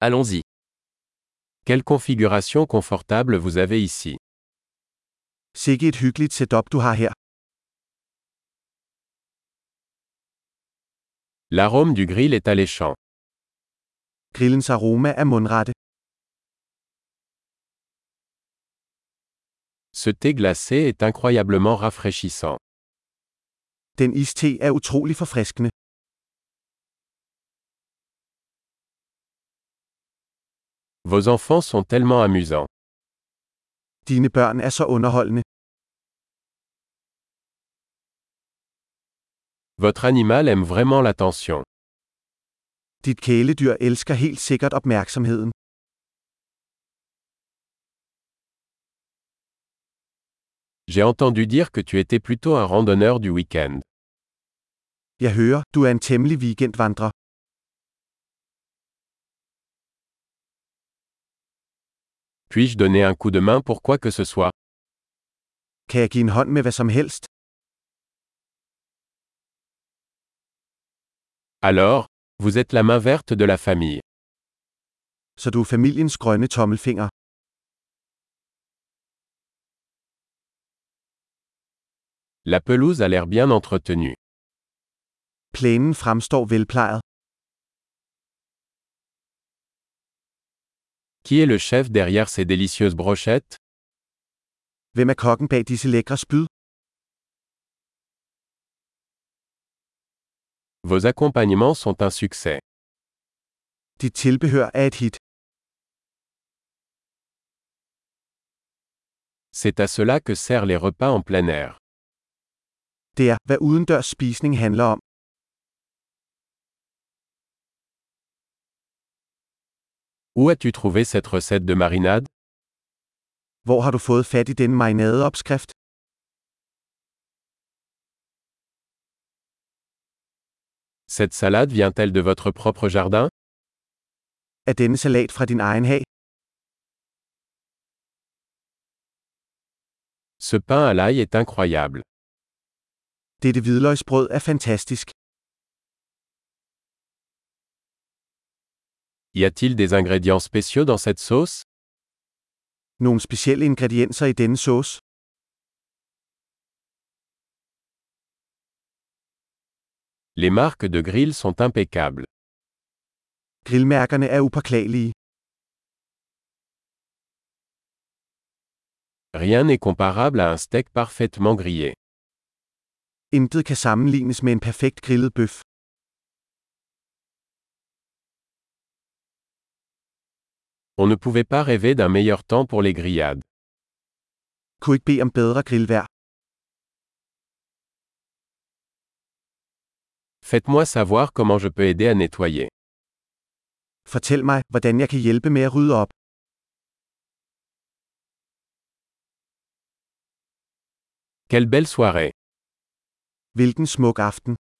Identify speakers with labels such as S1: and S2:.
S1: Allons-y. Quelle configuration confortable vous avez ici.
S2: Sikke et hyggeligt setup du har her.
S1: L'arôme du grill est alléchant.
S2: Grillens aroma er mundrette.
S1: Ce thé glacé est incroyablement rafraîchissant.
S2: Den iste er utrolig forfriskende.
S1: Vos enfants sont tellement amusants.
S2: Dine børn er så underholdende.
S1: Votre animal aime vraiment l'attention.
S2: Dit kæledyr elsker helt sikkert opmærksomheden.
S1: J'ai entendu dire que tu étais plutôt un randonneur du week-end.
S2: Jeg hører, du er en temmelig weekendvandrer.
S1: Puis-je donner un coup de main pour quoi que ce soit?
S2: Kan jeg give en hånd med hvad som helst?
S1: Alors, vous êtes la main verte de la famille.
S2: Så du er familiens grønne tommelfinger.
S1: La pelouse a l'air bien entretenue.
S2: Plænen fremstår velplejet.
S1: Qui est le chef derrière ces délicieuses brochettes?
S2: Hvem er kokken bag disse lækre spyd?
S1: Vos accompagnements sont un succès.
S2: Dit tilbehør er et hit.
S1: C'est à cela que servent les repas en plein air.
S2: Det er, hvad udendørs spisning handler om.
S1: Où as-tu trouvé cette recette de marinade?
S2: Hvor har du fået fat i denne marinadeopskrift?
S1: Cette salade vient-elle de votre propre jardin?
S2: Er denne salat fra din egen hag?
S1: Ce pain à l'ail est incroyable.
S2: Dette hvidløgsbrød er fantastisk.
S1: Y a-t-il des ingrédients spéciaux dans cette sauce?
S2: Nogle specielle ingredienser i denne sauce?
S1: Les marques de grill sont impeccables.
S2: Grillmærkerne er upåklagelige.
S1: Rien n'est comparable à un steak parfaitement grillé.
S2: Intet kan sammenlignes med en perfekt grillet bøf.
S1: On ne pouvait pas rêver d'un meilleur temps pour les grillades.
S2: Kunne ikke bede om bedre grillvejr.
S1: Faites-moi savoir comment je peux aider à nettoyer.
S2: Fortæl mig, hvordan jeg kan hjælpe med at rydde op.
S1: Quelle belle soirée!
S2: Hvilken smuk aften.